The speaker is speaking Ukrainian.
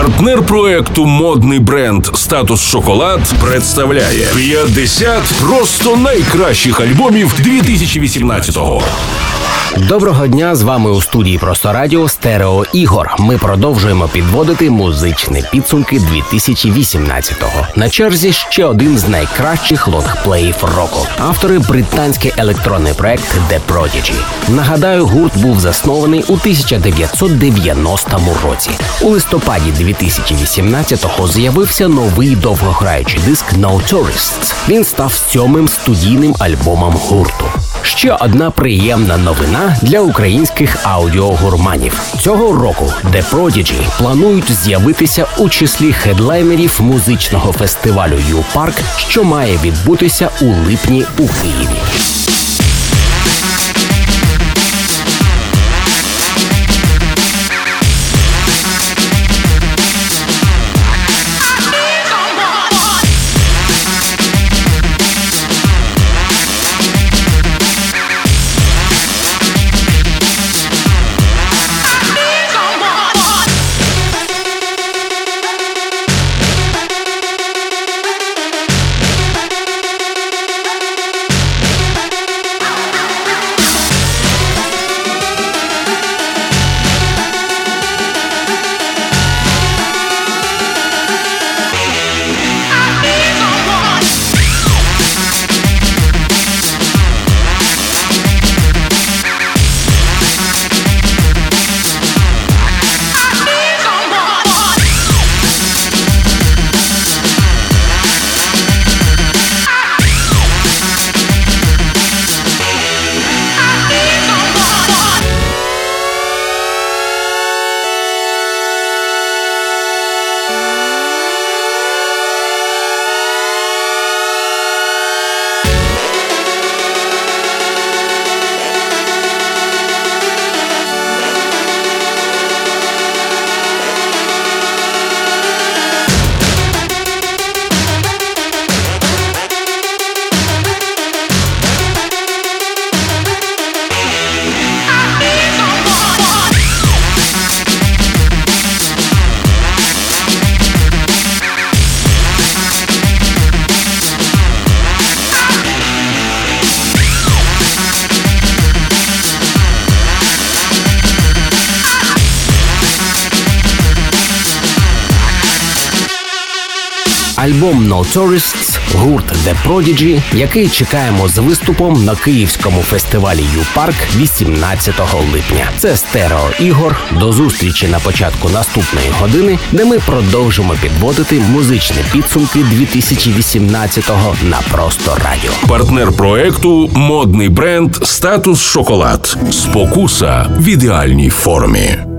Партнер проекту модний бренд «Статус Шоколад» представляє 50 просто найкращих альбомів 2018-го. Доброго дня, з вами у студії «Просто радіо» Стерео Ігор. Ми продовжуємо підводити музичні підсумки 2018-го. На черзі ще один з найкращих лонгплеїв року. Автори – британський електронний проект The Prodigy. Нагадаю, гурт був заснований у 1990 році. У листопаді 2018-го з'явився новий довгограючий диск No Tourists. Він став 7-м студійним альбомом гурту. Ще одна приємна новина для українських аудіогурманів. Цього року The Prodigy планують з'явитися у числі хедлайнерів музичного фестивалю U-Park, що має відбутися у липні у Києві. Альбом No Tourists, гурт The Prodigy, який чекаємо з виступом на київському фестивалі U-Park 18 липня. Це Стерео Ігор. До зустрічі на початку наступної години, де ми продовжимо підводити музичні підсумки 2018-го на Просто радіо. Партнер проекту модний бренд «Статус Шоколад». Спокуса в ідеальній формі.